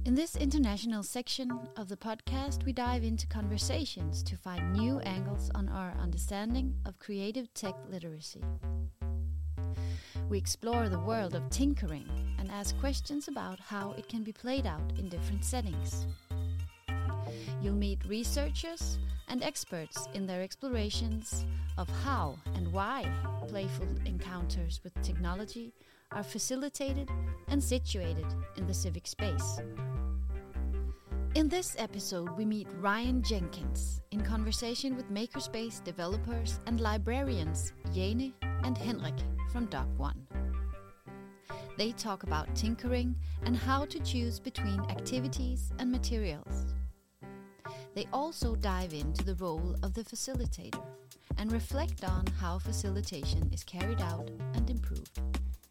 In this international section of the podcast, we dive into conversations to find new angles on our understanding of creative tech literacy. We explore the world of tinkering and ask questions about how it can be played out in different settings. You'll meet researchers and experts in their explorations of how and why playful encounters with technology are facilitated and situated in the civic space. In this episode, we meet Ryan Jenkins in conversation with Makerspace developers and librarians Jane and Henrik from Doc1. They talk about tinkering and how to choose between activities and materials. They also dive into the role of the facilitator and reflect on how facilitation is carried out and improved.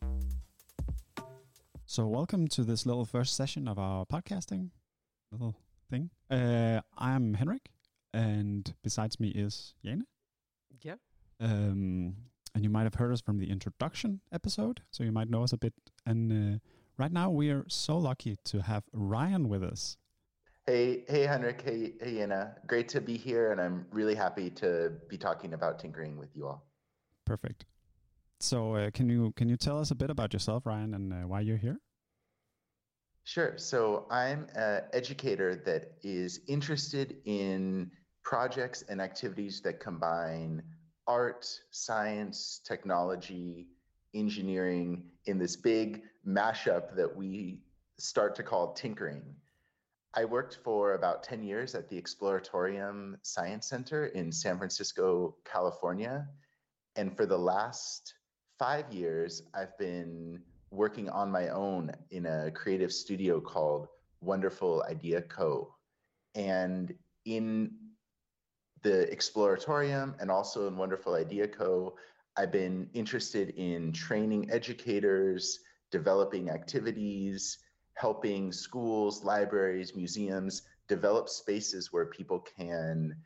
So welcome to this little first session of our podcasting little thing. I'm Henrik, and besides me is Jane. Yeah. And you might have heard us from the introduction episode, so you might know us a bit. And right now we are so lucky to have Ryan with us. Hey Henrik, hey Jena. Great to be here, and I'm really happy to be talking about tinkering with you all. Perfect. So can you tell us a bit about yourself, Ryan, and why you're here? Sure. So I'm an educator that is interested in projects and activities that combine art, science, technology, engineering in this big mashup that we start to call tinkering. I worked for about 10 years at the Exploratorium Science Center in San Francisco, California. And for the last 5 years, I've been working on my own in a creative studio called Wonderful Idea Co. And in the Exploratorium and also in Wonderful Idea Co., I've been interested in training educators, developing activities, helping schools, libraries, museums develop spaces where people can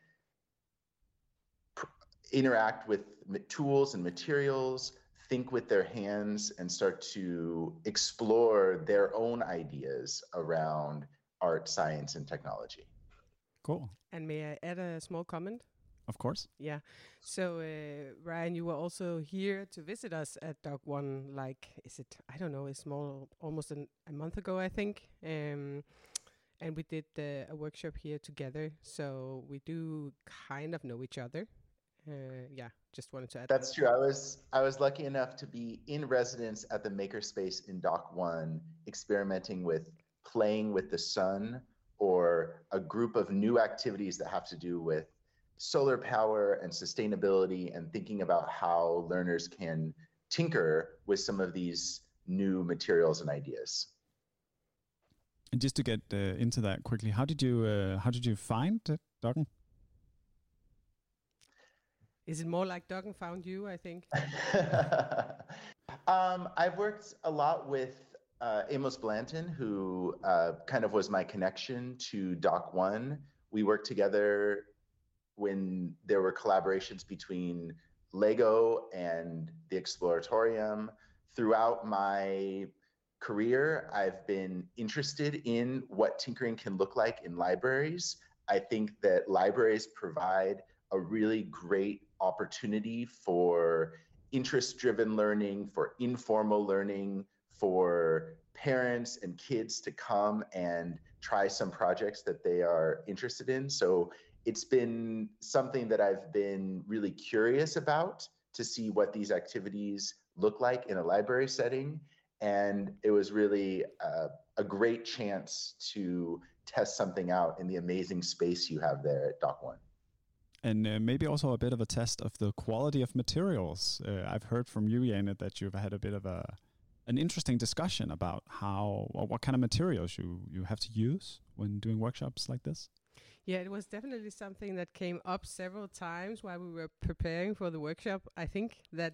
interact with tools and materials, think with their hands, and start to explore their own ideas around art, science, and technology. Cool. And may I add a small comment? Of course. Yeah. So, Ryan, you were also here to visit us at Doc1, it's almost a month ago, I think. And we did a workshop here together. So we do kind of know each other. Just wanted to add. That's true. I was lucky enough to be in residence at the Makerspace in Doc1, experimenting with playing with the sun, or a group of new activities that have to do with solar power and sustainability, and thinking about how learners can tinker with some of these new materials and ideas. And just to get into that quickly, how did you find Doc1? Is it more like Doc1 found you, I think? I've worked a lot with Amos Blanton, who kind of was my connection to Doc1. We worked together when there were collaborations between Lego and the Exploratorium. Throughout my career, I've been interested in what tinkering can look like in libraries. I think that libraries provide a really great opportunity for interest-driven learning, for informal learning, for parents and kids to come and try some projects that they are interested in. So it's been something that I've been really curious about, to see what these activities look like in a library setting. And it was really a great chance to test something out in the amazing space you have there at Doc1. And maybe also a bit of a test of the quality of materials. I've heard from you, Jane, that you've had a bit of an interesting discussion about what kind of materials you have to use when doing workshops like this. Yeah, it was definitely something that came up several times while we were preparing for the workshop. I think that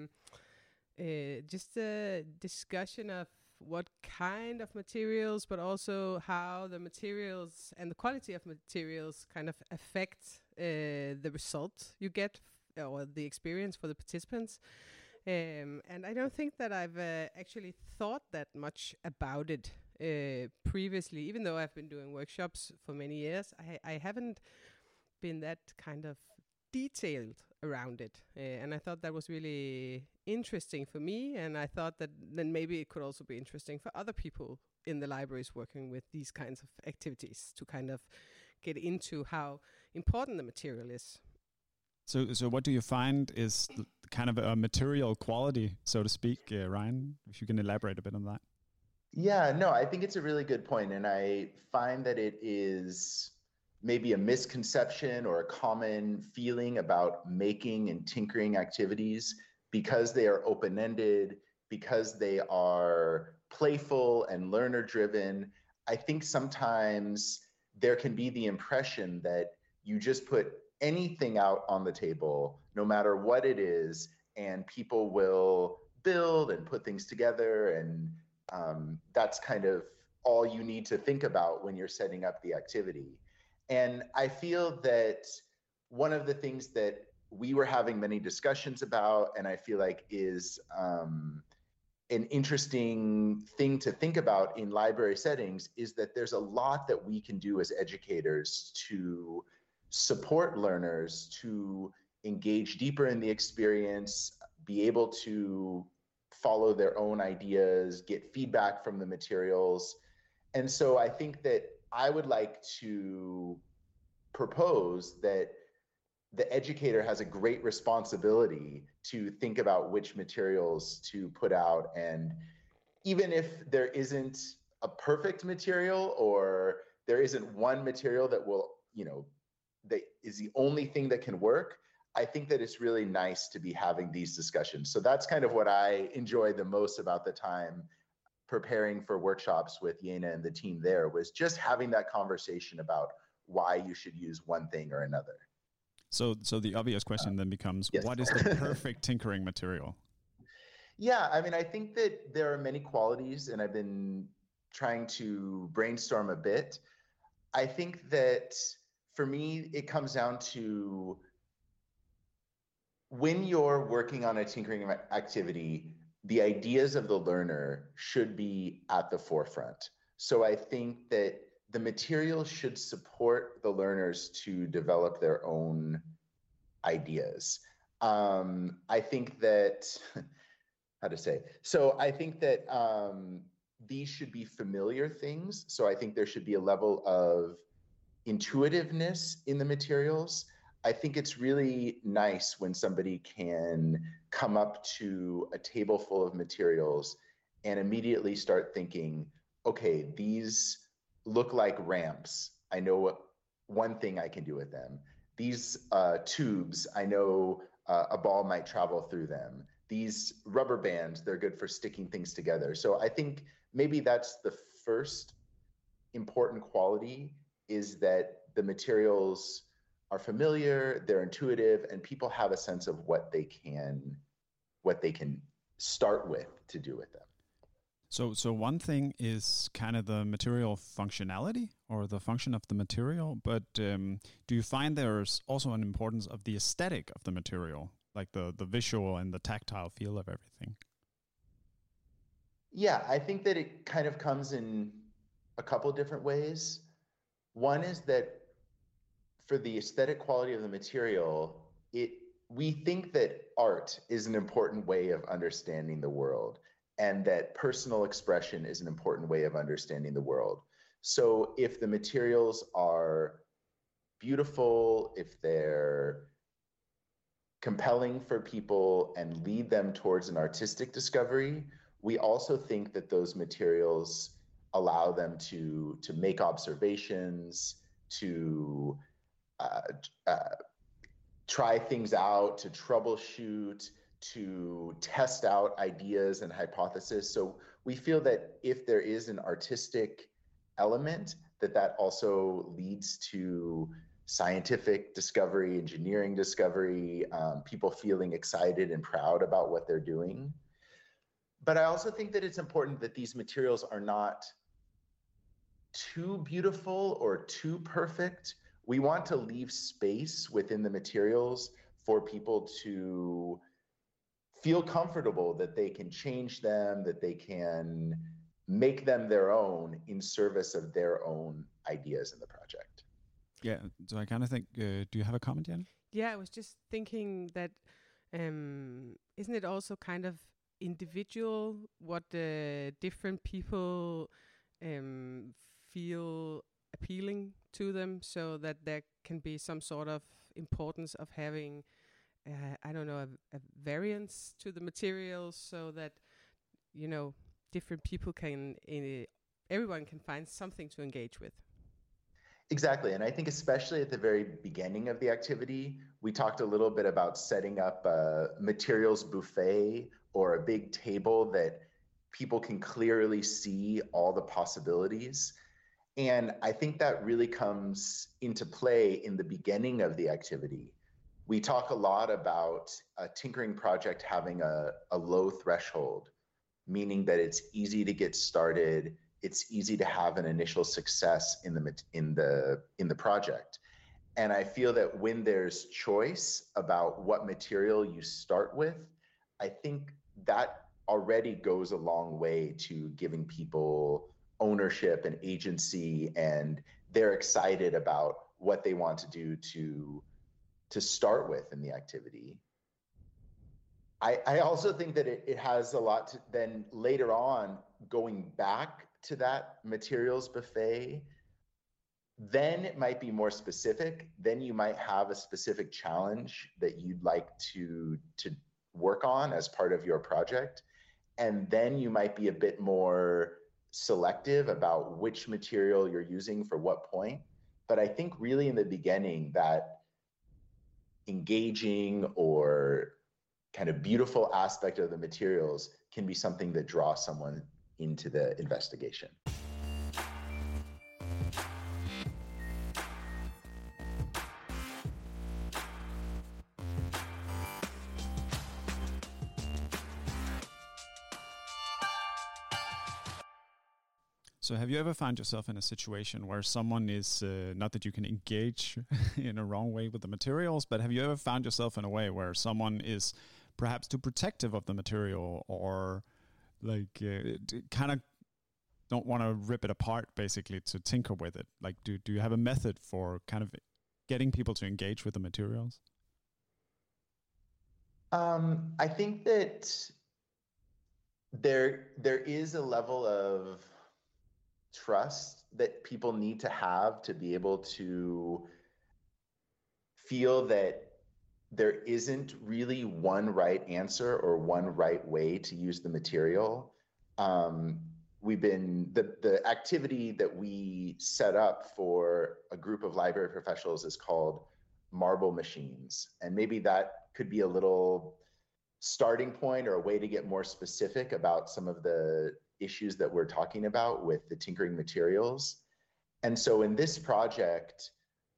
just a discussion of what kind of materials, but also how the materials and the quality of materials kind of affect the result you get, or the experience for the participants. And I don't think that I've actually thought that much about it previously, even though I've been doing workshops for many years, I haven't been that kind of detailed around it. And I thought that was really interesting for me. And I thought that then maybe it could also be interesting for other people in the libraries working with these kinds of activities to kind of get into how important the material is. So what do you find is kind of a material quality, so to speak, Ryan? If you can elaborate a bit on that. Yeah, no, I think it's a really good point. And I find that it is maybe a misconception or a common feeling about making and tinkering activities because they are open-ended, because they are playful and learner-driven. I think sometimes there can be the impression that you just put anything out on the table, no matter what it is, and people will build and put things together. And that's kind of all you need to think about when you're setting up the activity. And I feel that one of the things that we were having many discussions about, and I feel like is an interesting thing to think about in library settings, is that there's a lot that we can do as educators to support learners to engage deeper in the experience, be able to follow their own ideas, get feedback from the materials. And so I think that I would like to propose that the educator has a great responsibility to think about which materials to put out. And even if there isn't a perfect material, or there isn't one material that will, that is the only thing that can work, I think that it's really nice to be having these discussions. So that's kind of what I enjoy the most about the time preparing for workshops with Jena and the team there, was just having that conversation about why you should use one thing or another. So the obvious question then becomes, yes. What is the perfect tinkering material? Yeah, I mean, I think that there are many qualities, and I've been trying to brainstorm a bit. I think that for me, it comes down to when you're working on a tinkering activity, the ideas of the learner should be at the forefront. So I think that the material should support the learners to develop their own ideas. I think that, how to say? So I think that these should be familiar things. So I think there should be a level of intuitiveness in the materials. I think it's really nice when somebody can come up to a table full of materials and immediately start thinking, okay, these look like ramps. I know one thing I can do with them. These tubes, I know a ball might travel through them. These rubber bands, they're good for sticking things together. So I think maybe that's the first important quality, is that the materials are familiar, they're intuitive, and people have a sense of what they can start with to do with them. So one thing is kind of the material functionality or the function of the material, but do you find there's also an importance of the aesthetic of the material, like the visual and the tactile feel of everything? Yeah, I think that it kind of comes in a couple different ways. One is that for the aesthetic quality of the material, we think that art is an important way of understanding the world, and that personal expression is an important way of understanding the world. So if the materials are beautiful, if they're compelling for people and lead them towards an artistic discovery, we also think that those materials allow them to make observations, to try things out, to troubleshoot, to test out ideas and hypotheses. So we feel that if there is an artistic element, that also leads to scientific discovery, engineering discovery, people feeling excited and proud about what they're doing. But I also think that it's important that these materials are not too beautiful or too perfect. We want to leave space within the materials for people to feel comfortable that they can change them, that they can make them their own in service of their own ideas in the project. Yeah, so I kind of think, do you have a comment, Jan? Yeah, I was just thinking that isn't it also kind of individual what the different people feel appealing to them, so that there can be some sort of importance of having, I don't know, a variance to the materials, so that, you know, different people can, everyone can find something to engage with. Exactly. And I think especially at the very beginning of the activity, we talked a little bit about setting up a materials buffet or a big table that people can clearly see all the possibilities. And I think that really comes into play in the beginning of the activity. We talk a lot about a tinkering project having a low threshold, meaning that it's easy to get started. It's easy to have an initial success in the project. And I feel that when there's choice about what material you start with, I think that already goes a long way to giving people ownership and agency, and they're excited about what they want to do to start with in the activity. I also think that it has a lot to then later on going back to that materials buffet, then it might be more specific. Then you might have a specific challenge that you'd like to work on as part of your project. And then you might be a bit more selective about which material you're using for what point. But I think really in the beginning, that engaging or kind of beautiful aspect of the materials can be something that draws someone into the investigation. So have you ever found yourself in a situation where someone is, not that you can engage in a wrong way with the materials, but have you ever found yourself in a way where someone is perhaps too protective of the material, or like kind of don't want to rip it apart basically to tinker with it? Like do you have a method for kind of getting people to engage with the materials? I think that there is a level of trust that people need to have to be able to feel that there isn't really one right answer or one right way to use the material. The activity that we set up for a group of library professionals is called Marble Machines. And maybe that could be a little starting point or a way to get more specific about some of the issues that we're talking about with the tinkering materials. And so in this project,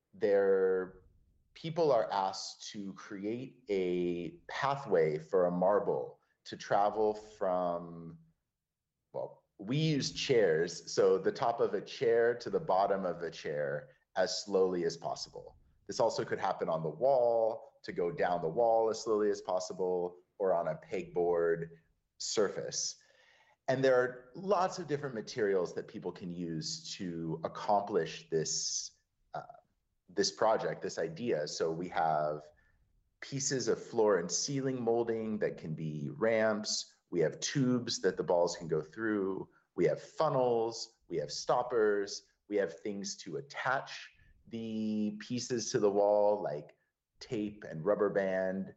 people are asked to create a pathway for a marble to travel from, well, we use chairs, so the top of a chair to the bottom of a chair as slowly as possible. This also could happen on the wall, to go down the wall as slowly as possible, or on a pegboard surface. And there are lots of different materials that people can use to accomplish this project, this idea. So we have pieces of floor and ceiling molding that can be ramps. We have tubes that the balls can go through. We have funnels. We have stoppers. We have things to attach the pieces to the wall, like tape and rubber band.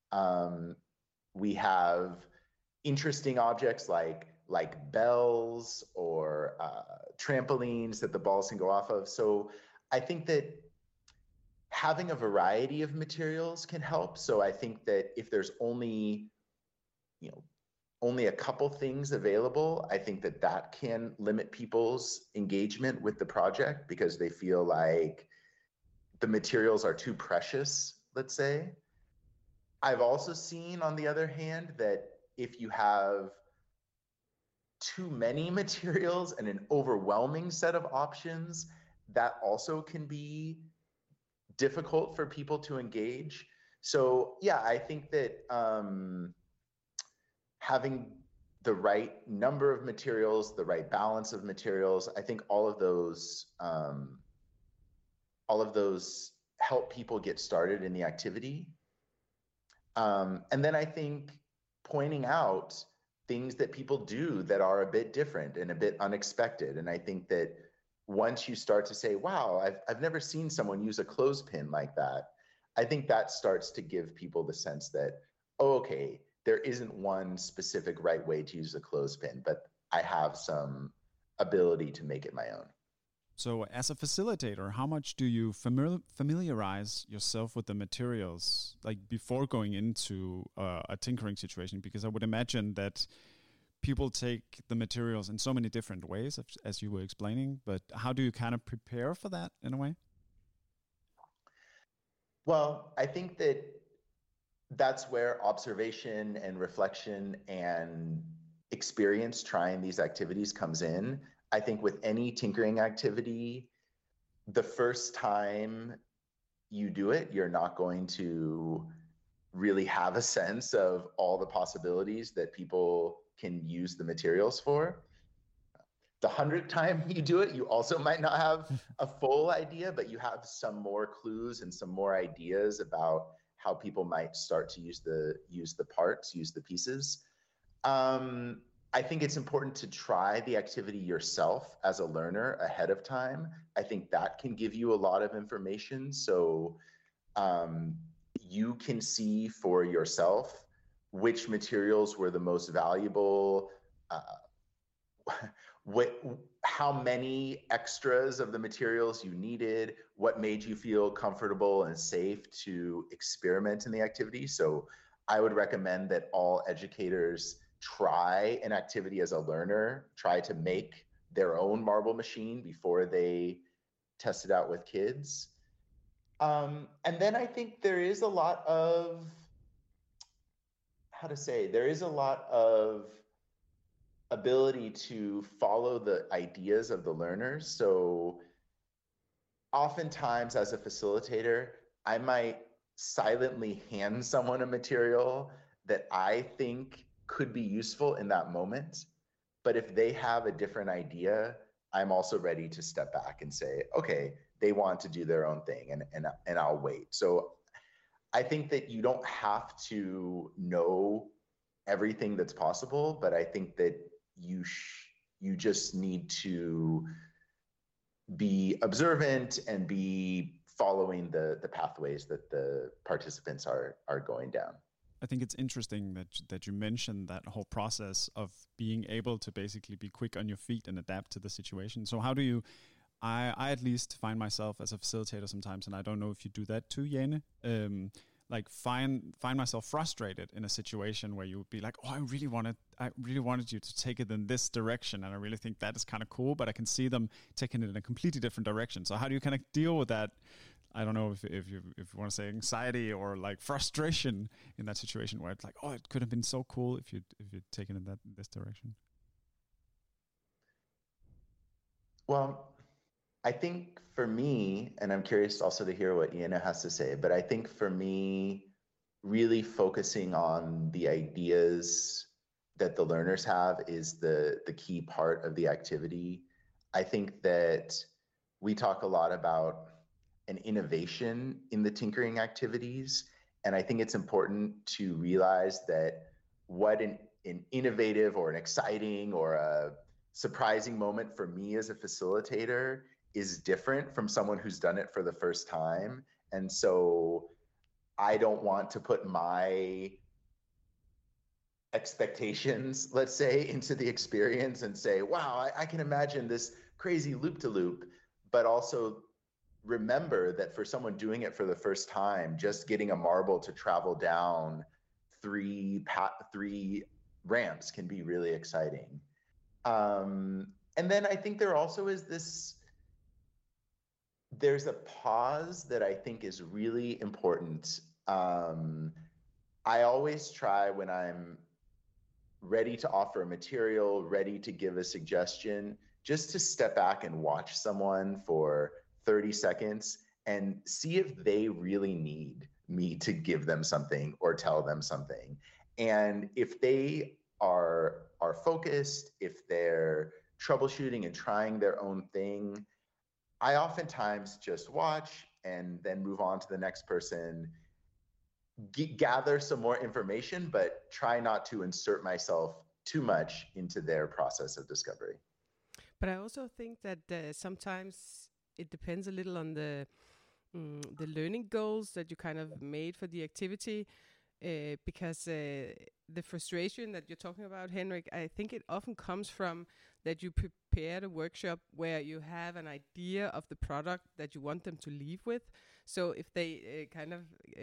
We have interesting objects like bells or trampolines that the balls can go off of. So I think that having a variety of materials can help. So I think that if there's only a couple things available, I think that can limit people's engagement with the project because they feel like the materials are too precious, let's say. I've also seen, on the other hand, that if you have too many materials and an overwhelming set of options, that also can be difficult for people to engage. So yeah, I think that having the right number of materials, the right balance of materials. I think all of those help people get started in the activity. And then I think pointing out things that people do that are a bit different and a bit unexpected. And I think that once you start to say, wow, I've never seen someone use a clothespin like that, I think that starts to give people the sense that, oh, okay, there isn't one specific right way to use a clothespin, but I have some ability to make it my own. So as a facilitator, how much do you familiarize yourself with the materials, like before going into a tinkering situation? Because I would imagine that people take the materials in so many different ways, as you were explaining, but how do you kind of prepare for that in a way? Well, I think that's where observation and reflection and experience trying these activities comes in. I think with any tinkering activity, the first time you do it, you're not going to really have a sense of all the possibilities that people can use the materials for. The 100th time you do it, you also might not have a full idea, but you have some more clues and some more ideas about how people might start to use the parts, use the pieces. I think it's important to try the activity yourself as a learner ahead of time. I think that can give you a lot of information. So you can see for yourself which materials were the most valuable, how many extras of the materials you needed, what made you feel comfortable and safe to experiment in the activity. So I would recommend that all educators try an activity as a learner, try to make their own marble machine before they test it out with kids. And then I think there is a lot of, there is a lot of ability to follow the ideas of the learners. So oftentimes as a facilitator, I might silently hand someone a material that I think could be useful in that moment. But if they have a different idea, I'm also ready to step back and say, okay, they want to do their own thing, and I'll wait. So I think that you don't have to know everything that's possible, but I think that you just need to be observant and be following the pathways that the participants are going down. I think it's interesting that you mentioned that whole process of being able to basically be quick on your feet and adapt to the situation. So how do you, I at least find myself as a facilitator sometimes, and I don't know if you do that too, Jane, like find myself frustrated in a situation where you would be like, oh, I really wanted you to take it in this direction, and I really think that is kind of cool, but I can see them taking it in a completely different direction. So how do you kind of deal with that? I don't know if you want to say anxiety or like frustration in that situation where it's like, oh, it could have been so cool if you'd taken it in this direction. Well, I think for me, and I'm curious also to hear what Iena has to say, but I think for me, really focusing on the ideas that the learners have is the key part of the activity. I think that we talk a lot about an innovation in the tinkering activities, and I think it's important to realize that what an innovative or an exciting or a surprising moment for me as a facilitator is different from someone who's done it for the first time. And so I don't want to put my expectations, let's say, into the experience and say, wow, I can imagine this crazy loop-to-loop, but also remember that for someone doing it for the first time, just getting a marble to travel down three ramps can be really exciting. And then I think there also is there's a pause that I think is really important. I always try when I'm ready to offer a material, ready to give a suggestion, just to step back and watch someone for 30 seconds and see if they really need me to give them something or tell them something. And if they are focused, if they're troubleshooting and trying their own thing, I oftentimes just watch and then move on to the next person, gather some more information, but try not to insert myself too much into their process of discovery. But I also think that sometimes it depends a little on the learning goals that you kind of made for the activity, because the frustration that you're talking about, Henrik, I think it often comes from that you prepared a workshop where you have an idea of the product that you want them to leave with. So if they kind of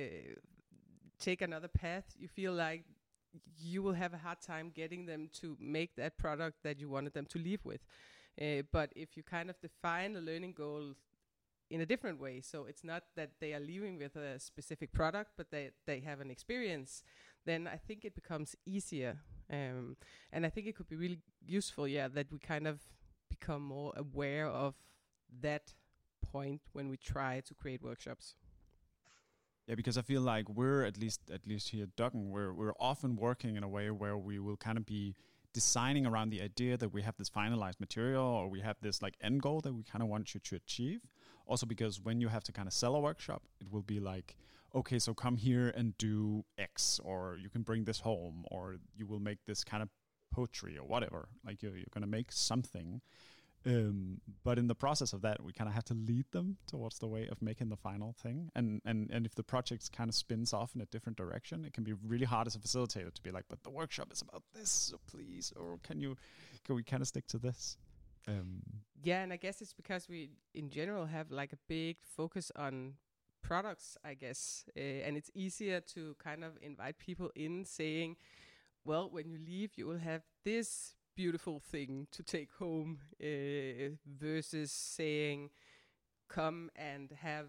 take another path, you feel like you will have a hard time getting them to make that product that you wanted them to leave with. But if you kind of define a learning goal in a different way, so it's not that they are leaving with a specific product, but they have an experience, then I think it becomes easier. And I think it could be really useful, that we kind of become more aware of that point when we try to create workshops. Yeah, because I feel like we're at least here at Duggan, we're often working in a way where we will kind of be designing around the idea that we have this finalized material, or we have this like end goal that we kind of want you to achieve. Also because when you have to kind of sell a workshop, it will be like, okay, so come here and do X, or you can bring this home, or you will make this kind of poetry or whatever. Like you're going to make something. But in the process of that, we kind of have to lead them towards the way of making the final thing. And if the project kind of spins off in a different direction, it can be really hard as a facilitator to be like, but the workshop is about this, so please, or can we kind of stick to this? And I guess it's because we in general have like a big focus on products, I guess. And it's easier to kind of invite people in saying, well, when you leave, you will have this beautiful thing to take home, versus saying, come and have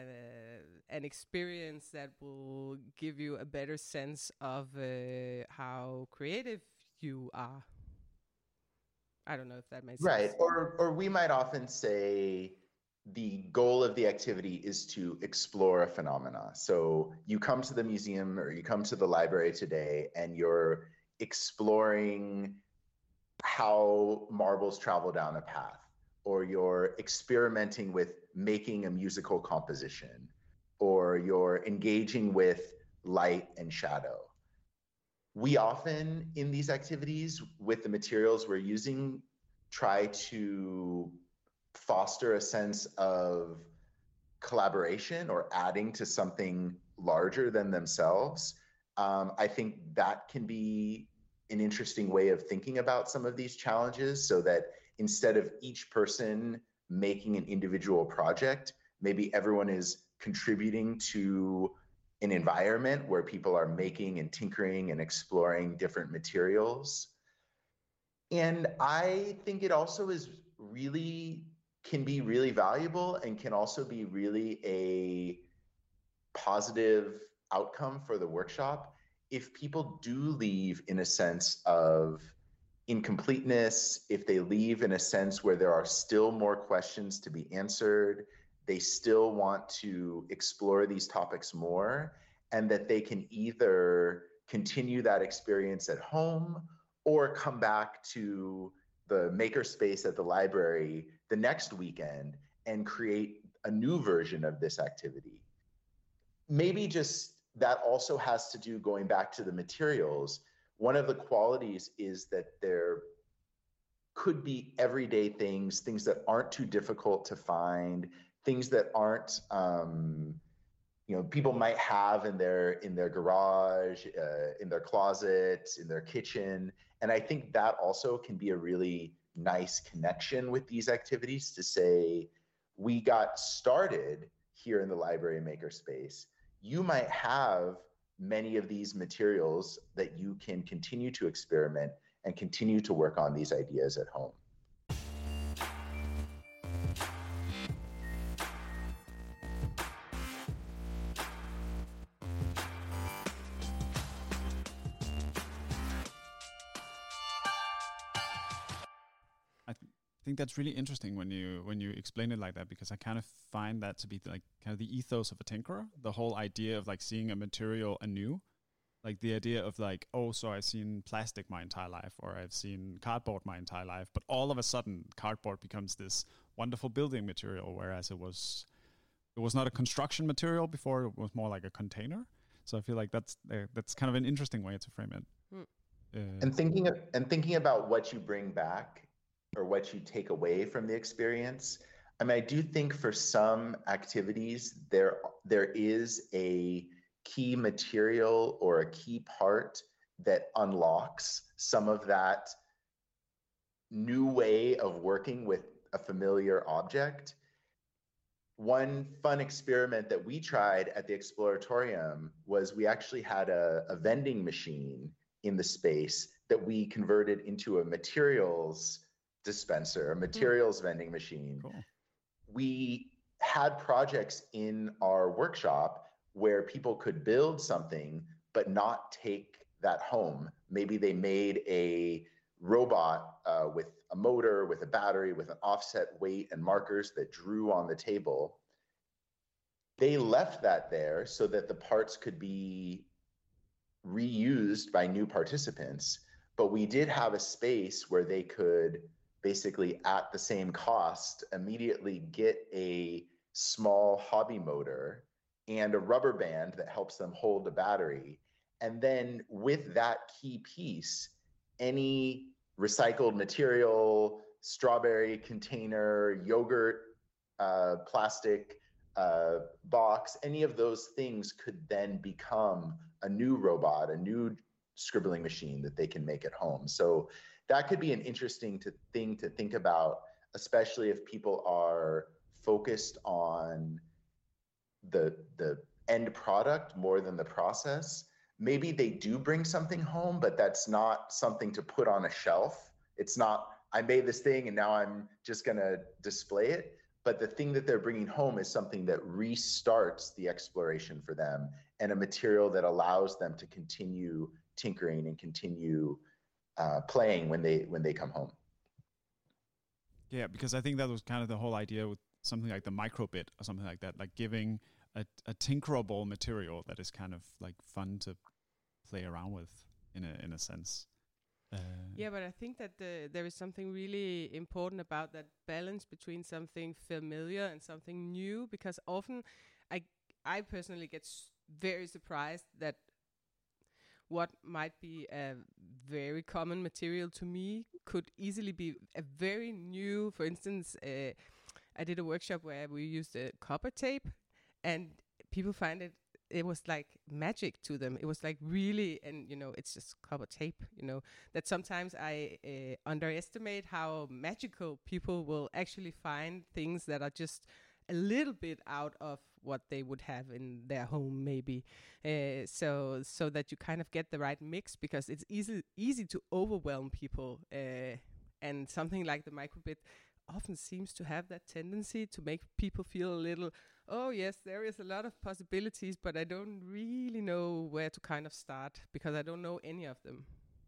an experience that will give you a better sense of how creative you are. I don't know if that makes sense. Right. Or we might often say the goal of the activity is to explore a phenomena. So you come to the museum or you come to the library today and you're exploring how marbles travel down a path, or you're experimenting with making a musical composition, or you're engaging with light and shadow. We often, in these activities, with the materials we're using, try to foster a sense of collaboration or adding to something larger than themselves. I think that can be an interesting way of thinking about some of these challenges, so that instead of each person making an individual project, maybe everyone is contributing to an environment where people are making and tinkering and exploring different materials. And I think it also can be really valuable and can also be really a positive outcome for the workshop if people do leave in a sense of incompleteness, if they leave in a sense where there are still more questions to be answered, they still want to explore these topics more, and that they can either continue that experience at home or come back to the makerspace at the library the next weekend and create a new version of this activity. Maybe just that also has to do, going back to the materials, one of the qualities is that there could be everyday things that aren't too difficult to find, things that aren't, people might have in their garage, in their closet, in their kitchen. And I think that also can be a really nice connection with these activities, to say, we got started here in the library makerspace. You might have many of these materials that you can continue to experiment and continue to work on these ideas at home. I think that's really interesting when you explain it like that, because I kind of find that to be like kind of the ethos of a tinkerer, the whole idea of like seeing a material anew. Like the idea of like, oh, so I've seen plastic my entire life, or I've seen cardboard my entire life, but all of a sudden cardboard becomes this wonderful building material, whereas it was not a construction material before, it was more like a container. So I feel like that's kind of an interesting way to frame it. And thinking about what you bring back or what you take away from the experience. I mean, I do think for some activities there is a key material or a key part that unlocks some of that new way of working with a familiar object. One fun experiment that we tried at the Exploratorium was we actually had a vending machine in the space that we converted into a materials dispenser, a materials vending machine. Cool. We had projects in our workshop where people could build something but not take that home. Maybe they made a robot with a motor, with a battery, with an offset weight and markers that drew on the table. They left that there so that the parts could be reused by new participants, but we did have a space where they could basically at the same cost immediately get a small hobby motor and a rubber band that helps them hold the battery. And then with that key piece, any recycled material, strawberry container, yogurt, plastic box, any of those things could then become a new robot, a new scribbling machine that they can make at home. So that could be an interesting thing to think about, especially if people are focused on the end product more than the process. Maybe they do bring something home, but that's not something to put on a shelf. It's not, I made this thing and now I'm just going to display it. But the thing that they're bringing home is something that restarts the exploration for them and a material that allows them to continue tinkering and continue playing when they come home. Yeah, because I think that was kind of the whole idea with something like the microbit or something like that, like giving a tinkerable material that is kind of like fun to play around with in a sense. Yeah, but I think that there is something really important about that balance between something familiar and something new, because often I personally get very surprised that what might be a very common material to me could easily be a very new. For instance, I did a workshop where we used copper tape, and people find it was like magic to them. It was like really, and it's just copper tape, that sometimes I underestimate how magical people will actually find things that are just a little bit out of what they would have in their home, maybe. So that you kind of get the right mix, because it's easy to overwhelm people. And something like the microbit often seems to have that tendency to make people feel a little, oh yes, there is a lot of possibilities, but I don't really know where to kind of start because I don't know any of them.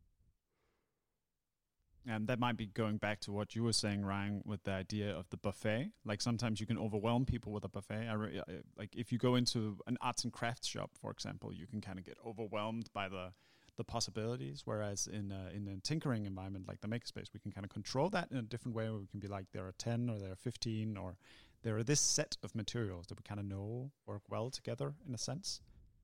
And that might be going back to what you were saying, Ryan, with the idea of the buffet. Like sometimes you can overwhelm people with a buffet. Like if you go into an arts and crafts shop, for example, you can kind of get overwhelmed by the possibilities. Whereas in a tinkering environment like the makerspace, we can kind of control that in a different way, where we can be like, there are 10 or there are 15 or there are this set of materials that we kind of know work well together in a sense.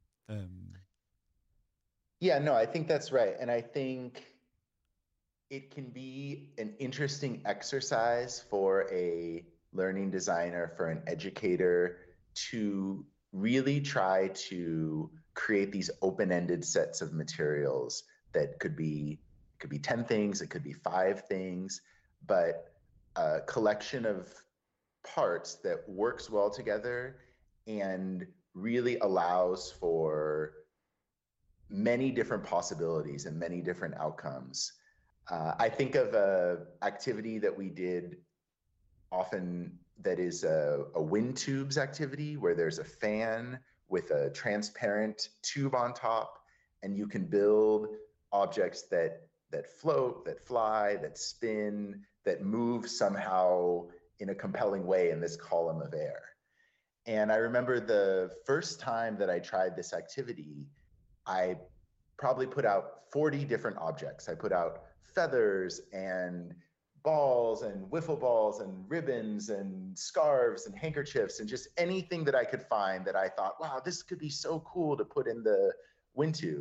Yeah, no, I think that's right. And I think it can be an interesting exercise for a learning designer, for an educator, to really try to create these open-ended sets of materials that could be 10 things, it could be 5 things, but a collection of parts that works well together and really allows for many different possibilities and many different outcomes. I think of an activity that we did often that is a wind tubes activity, where there's a fan with a transparent tube on top, and you can build objects that float, that fly, that spin, that move somehow in a compelling way in this column of air. And I remember the first time that I tried this activity, I probably put out 40 different objects. I put out feathers and balls and wiffle balls and ribbons and scarves and handkerchiefs and just anything that I could find that I thought, wow, this could be so cool to put in the wind tube.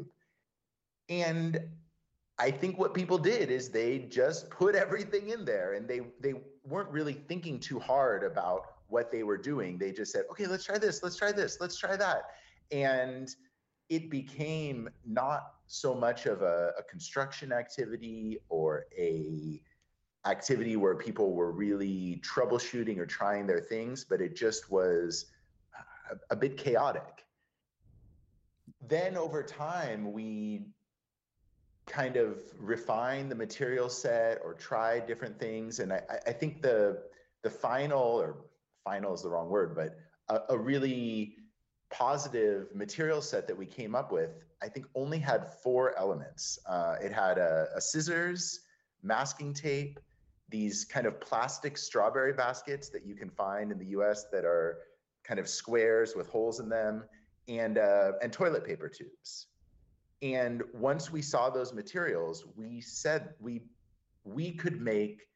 And I think what people did is they just put everything in there, and they weren't really thinking too hard about what they were doing. They just said, okay, let's try this, let's try this, let's try that. And it became not so much of a construction activity or a activity where people were really troubleshooting or trying their things, but it just was a bit chaotic. Then over time, we kind of refined the material set or tried different things. And I think the final, or final is the wrong word, but a really positive material set that we came up with, I think only had 4 elements. It had a scissors, masking tape, these kind of plastic strawberry baskets that you can find in the US that are kind of squares with holes in them, and toilet paper tubes. And once we saw those materials, we said we could make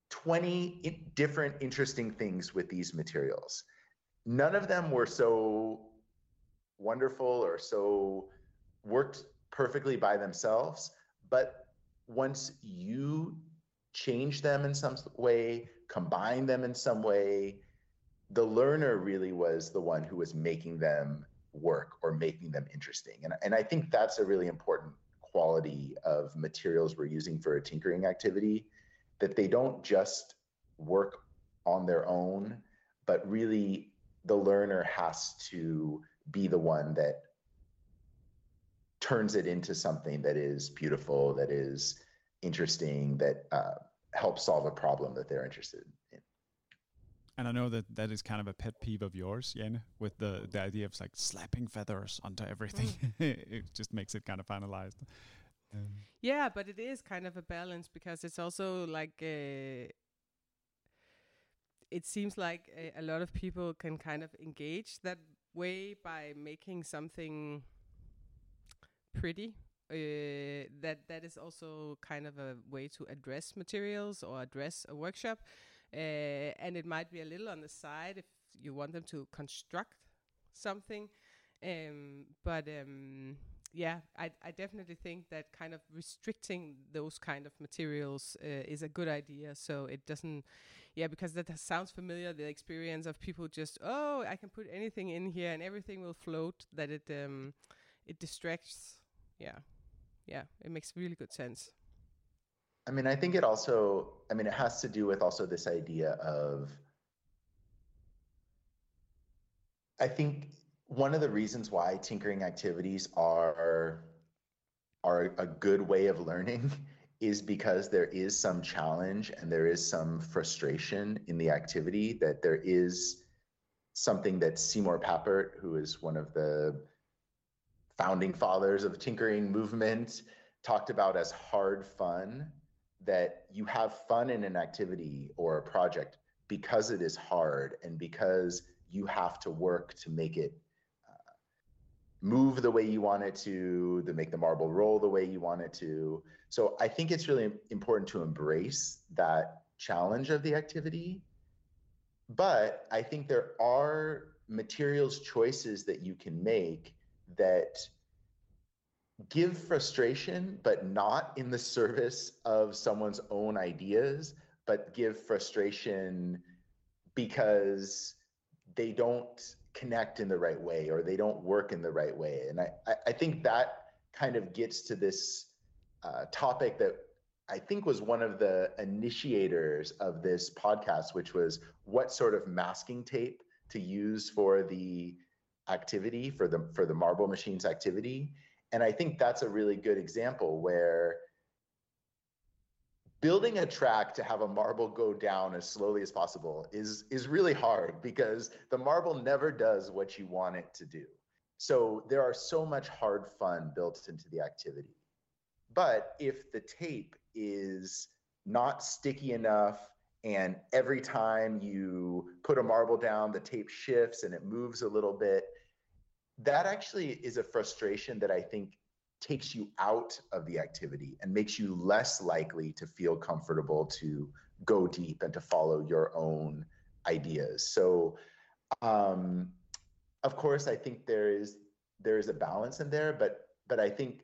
20 different interesting things with these materials. None of them were so wonderful or so worked perfectly by themselves, but once you change them in some way, combine them in some way, the learner really was the one who was making them work or making them interesting. And I think that's a really important quality of materials we're using for a tinkering activity, that they don't just work on their own, but really the learner has to be the one that turns it into something that is beautiful, that is interesting, that helps solve a problem that they're interested in. And I know that is kind of a pet peeve of yours, Jane, with the idea of like slapping feathers onto everything. It just makes it kind of finalized. Yeah, but it is kind of a balance, because it's also like it seems like a lot of people can kind of engage that way by making something pretty. That is also kind of a way to address materials or address a workshop. And it might be a little on the side if you want them to construct something. But I definitely think that kind of restricting those kind of materials is a good idea. So it doesn't, because that sounds familiar, the experience of people just, I can put anything in here and everything will float, that it distracts. Yeah, it makes really good sense. I mean, I think it also, it has to do with also this idea of, I think one of the reasons why tinkering activities are a good way of learning is because there is some challenge and there is some frustration in the activity, that there is something that Seymour Papert, who is one of the founding fathers of the tinkering movement, talked about as hard fun, that you have fun in an activity or a project because it is hard and because you have to work to make it move the way you want it to make the marble roll the way you want it to. So I think it's really important to embrace that challenge of the activity. But I think there are materials choices that you can make that give frustration, but not in the service of someone's own ideas, but give frustration because they don't connect in the right way or they don't work in the right way. And I think that kind of gets to this topic that I think was one of the initiators of this podcast, which was what sort of masking tape to use for the activity, for the Marble Machines activity. And I think that's a really good example where building a track to have a marble go down as slowly as possible is really hard, because the marble never does what you want it to do. So there are so much hard fun built into the activity. But if the tape is not sticky enough, and every time you put a marble down, the tape shifts and it moves a little bit, that actually is a frustration that I think takes you out of the activity and makes you less likely to feel comfortable to go deep and to follow your own ideas. So, of course, I think there is a balance in there, but I think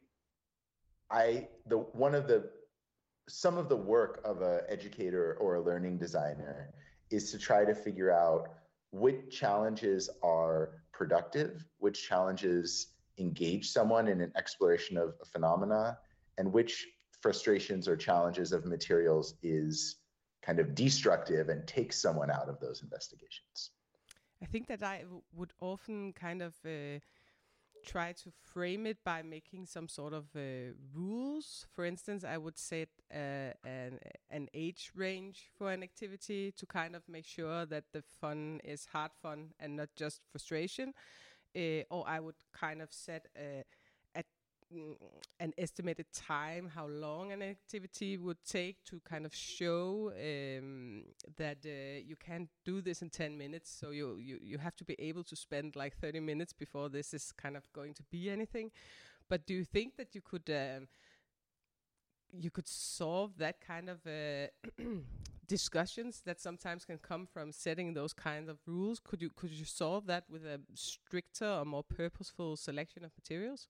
some of the work of an educator or a learning designer is to try to figure out which challenges are productive, which challenges engage someone in an exploration of a phenomena, and which frustrations or challenges of materials is kind of destructive and takes someone out of those investigations. I think that I would often kind of try to frame it by making some sort of rules. For instance, I would set an age range for an activity to kind of make sure that the fun is hard fun and not just frustration. Or I would kind of set an estimated time how long an activity would take to kind of show that you can't do this in 10 minutes, so you have to be able to spend like 30 minutes before this is kind of going to be anything. But do you think that you could solve that kind of discussions that sometimes can come from setting those kinds of rules? Could you solve that with a stricter or more purposeful selection of materials?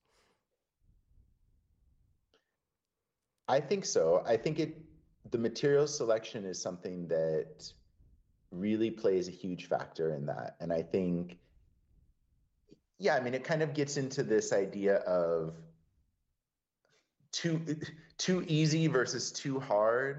I think so. I think the material selection is something that really plays a huge factor in that. And I think, yeah, I mean, it kind of gets into this idea of too easy versus too hard.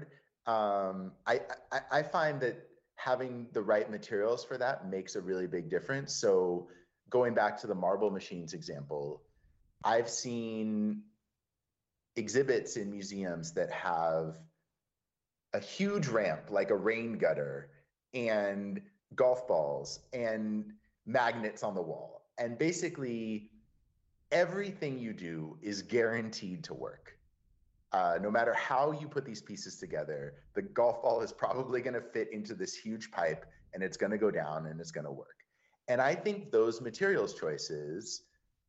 I find that having the right materials for that makes a really big difference. So going back to the marble machines example, I've seen exhibits in museums that have a huge ramp, like a rain gutter, and golf balls and magnets on the wall. And basically, everything you do is guaranteed to work. No matter how you put these pieces together, the golf ball is probably going to fit into this huge pipe, and it's going to go down and it's going to work. And I think those materials choices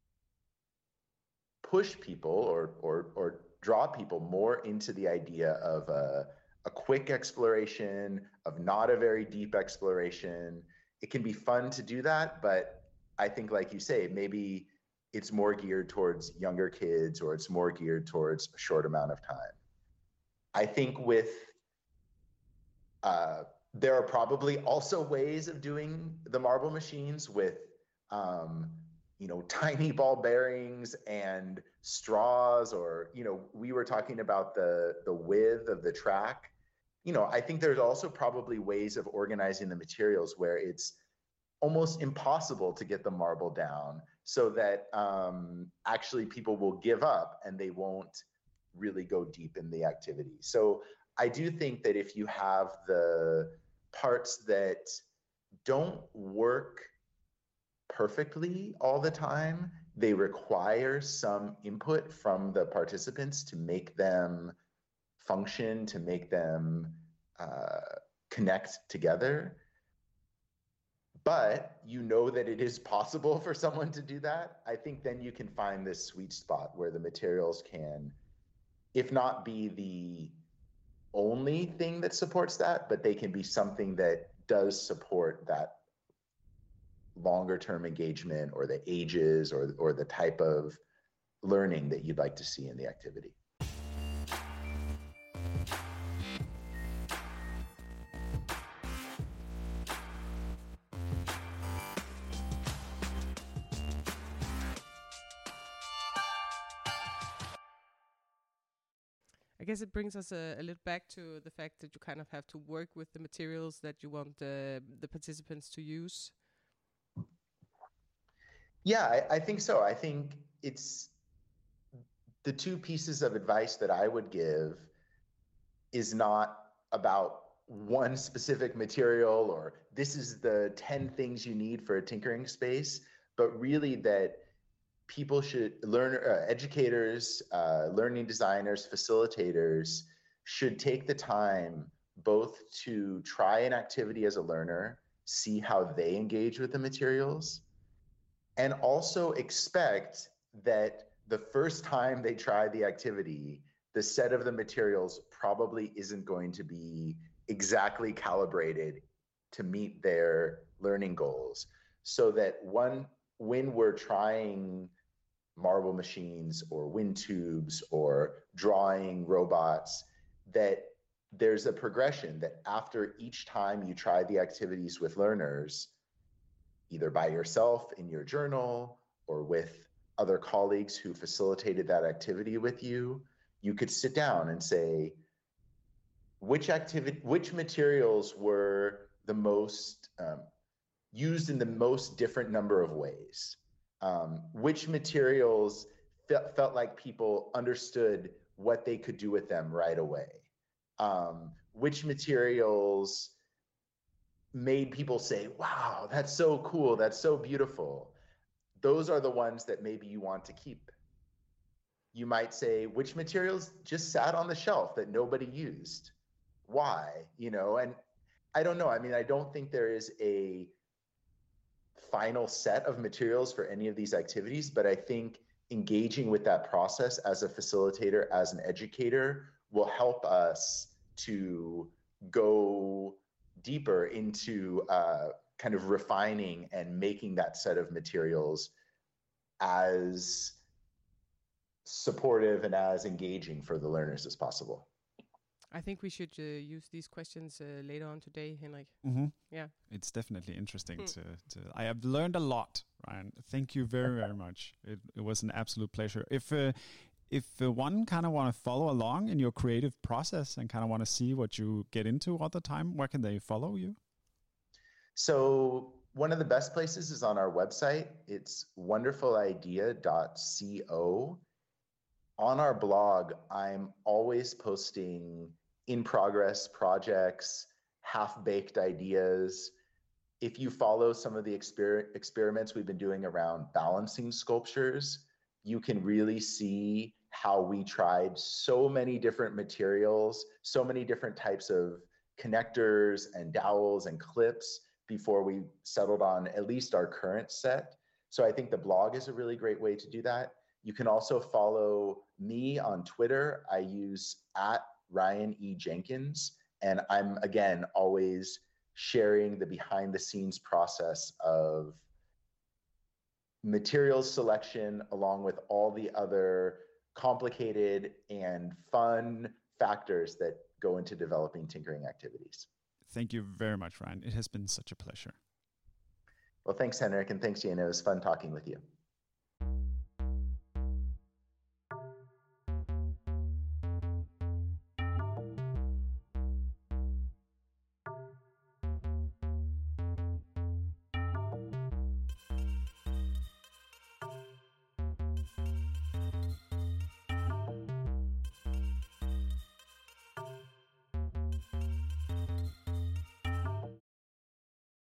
push people or draw people more into the idea of a quick exploration, of not a very deep exploration. It can be fun to do that, but I think, like you say, maybe it's more geared towards younger kids, or it's more geared towards a short amount of time. I think there are probably also ways of doing the marble machines with tiny ball bearings and straws, or, we were talking about the width of the track. I think there's also probably ways of organizing the materials where it's almost impossible to get the marble down, so that actually people will give up and they won't really go deep in the activity. So I do think that if you have the parts that don't work perfectly all the time, they require some input from the participants to make them function, to make them connect together. But that it is possible for someone to do that. I think then you can find this sweet spot where the materials can, if not be the only thing that supports that, but they can be something that does support that longer term engagement, or the ages, or the type of learning that you'd like to see in the activity. I guess it brings us a little back to the fact that you kind of have to work with the materials that you want the participants to use. Yeah, I think so. I think it's the two pieces of advice that I would give is not about one specific material, or this is the 10 things you need for a tinkering space, but really that people should educators, learning designers, facilitators should take the time both to try an activity as a learner, see how they engage with the materials, and also expect that the first time they try the activity, the set of the materials probably isn't going to be exactly calibrated to meet their learning goals. So that when we're trying marble machines or wind tubes or drawing robots, that there's a progression that after each time you try the activities with learners, either by yourself in your journal or with other colleagues who facilitated that activity with you, you could sit down and say, which materials were the most used in the most different number of ways? Which materials felt like people understood what they could do with them right away? Which materials made people say, wow, that's so cool, that's so beautiful? Those are the ones that maybe you want to keep. You might say, which materials just sat on the shelf that nobody used? Why? And I don't know. I mean, I don't think there is a final set of materials for any of these activities, but I think engaging with that process as a facilitator, as an educator, will help us to go deeper into kind of refining and making that set of materials as supportive and as engaging for the learners as possible. I think we should use these questions later on today, Henrik. Mm-hmm. Yeah. It's definitely interesting to I have learned a lot, Ryan. Thank you very, very much. It was an absolute pleasure. If one kind of want to follow along in your creative process and kind of want to see what you get into all the time, where can they follow you? So one of the best places is on our website. It's wonderfulidea.co. On our blog, I'm always posting in-progress projects, half-baked ideas. If you follow some of the experiments we've been doing around balancing sculptures, you can really see how we tried so many different materials, so many different types of connectors and dowels and clips before we settled on at least our current set. So I think the blog is a really great way to do that. You can also follow me on Twitter. I use @RyanEJenkins, and I'm, again, always sharing the behind-the-scenes process of materials selection along with all the other complicated and fun factors that go into developing tinkering activities. Thank you very much, Ryan. It has been such a pleasure. Well, thanks, Henrik, and thanks, Jane. It was fun talking with you.